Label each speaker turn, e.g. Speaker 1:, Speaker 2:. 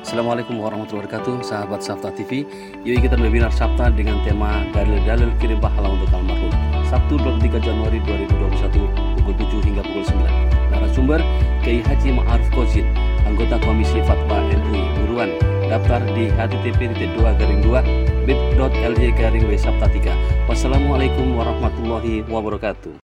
Speaker 1: Assalamualaikum warahmatullahi wabarakatuh, sahabat Sabta TV. Yuk ikutan webinar Sabta dengan tema dalil-dalil kirim pahala untuk almarhum. Sabtu 23 Januari 2021 pukul 7 hingga pukul 9. Narasumber Kiai Haji Ma'aruf Kozin, anggota Komisi Fatwa MUI Buruan. Daftar di http://bit.ly/w sabta 3. Wassalamualaikum warahmatullahi wabarakatuh.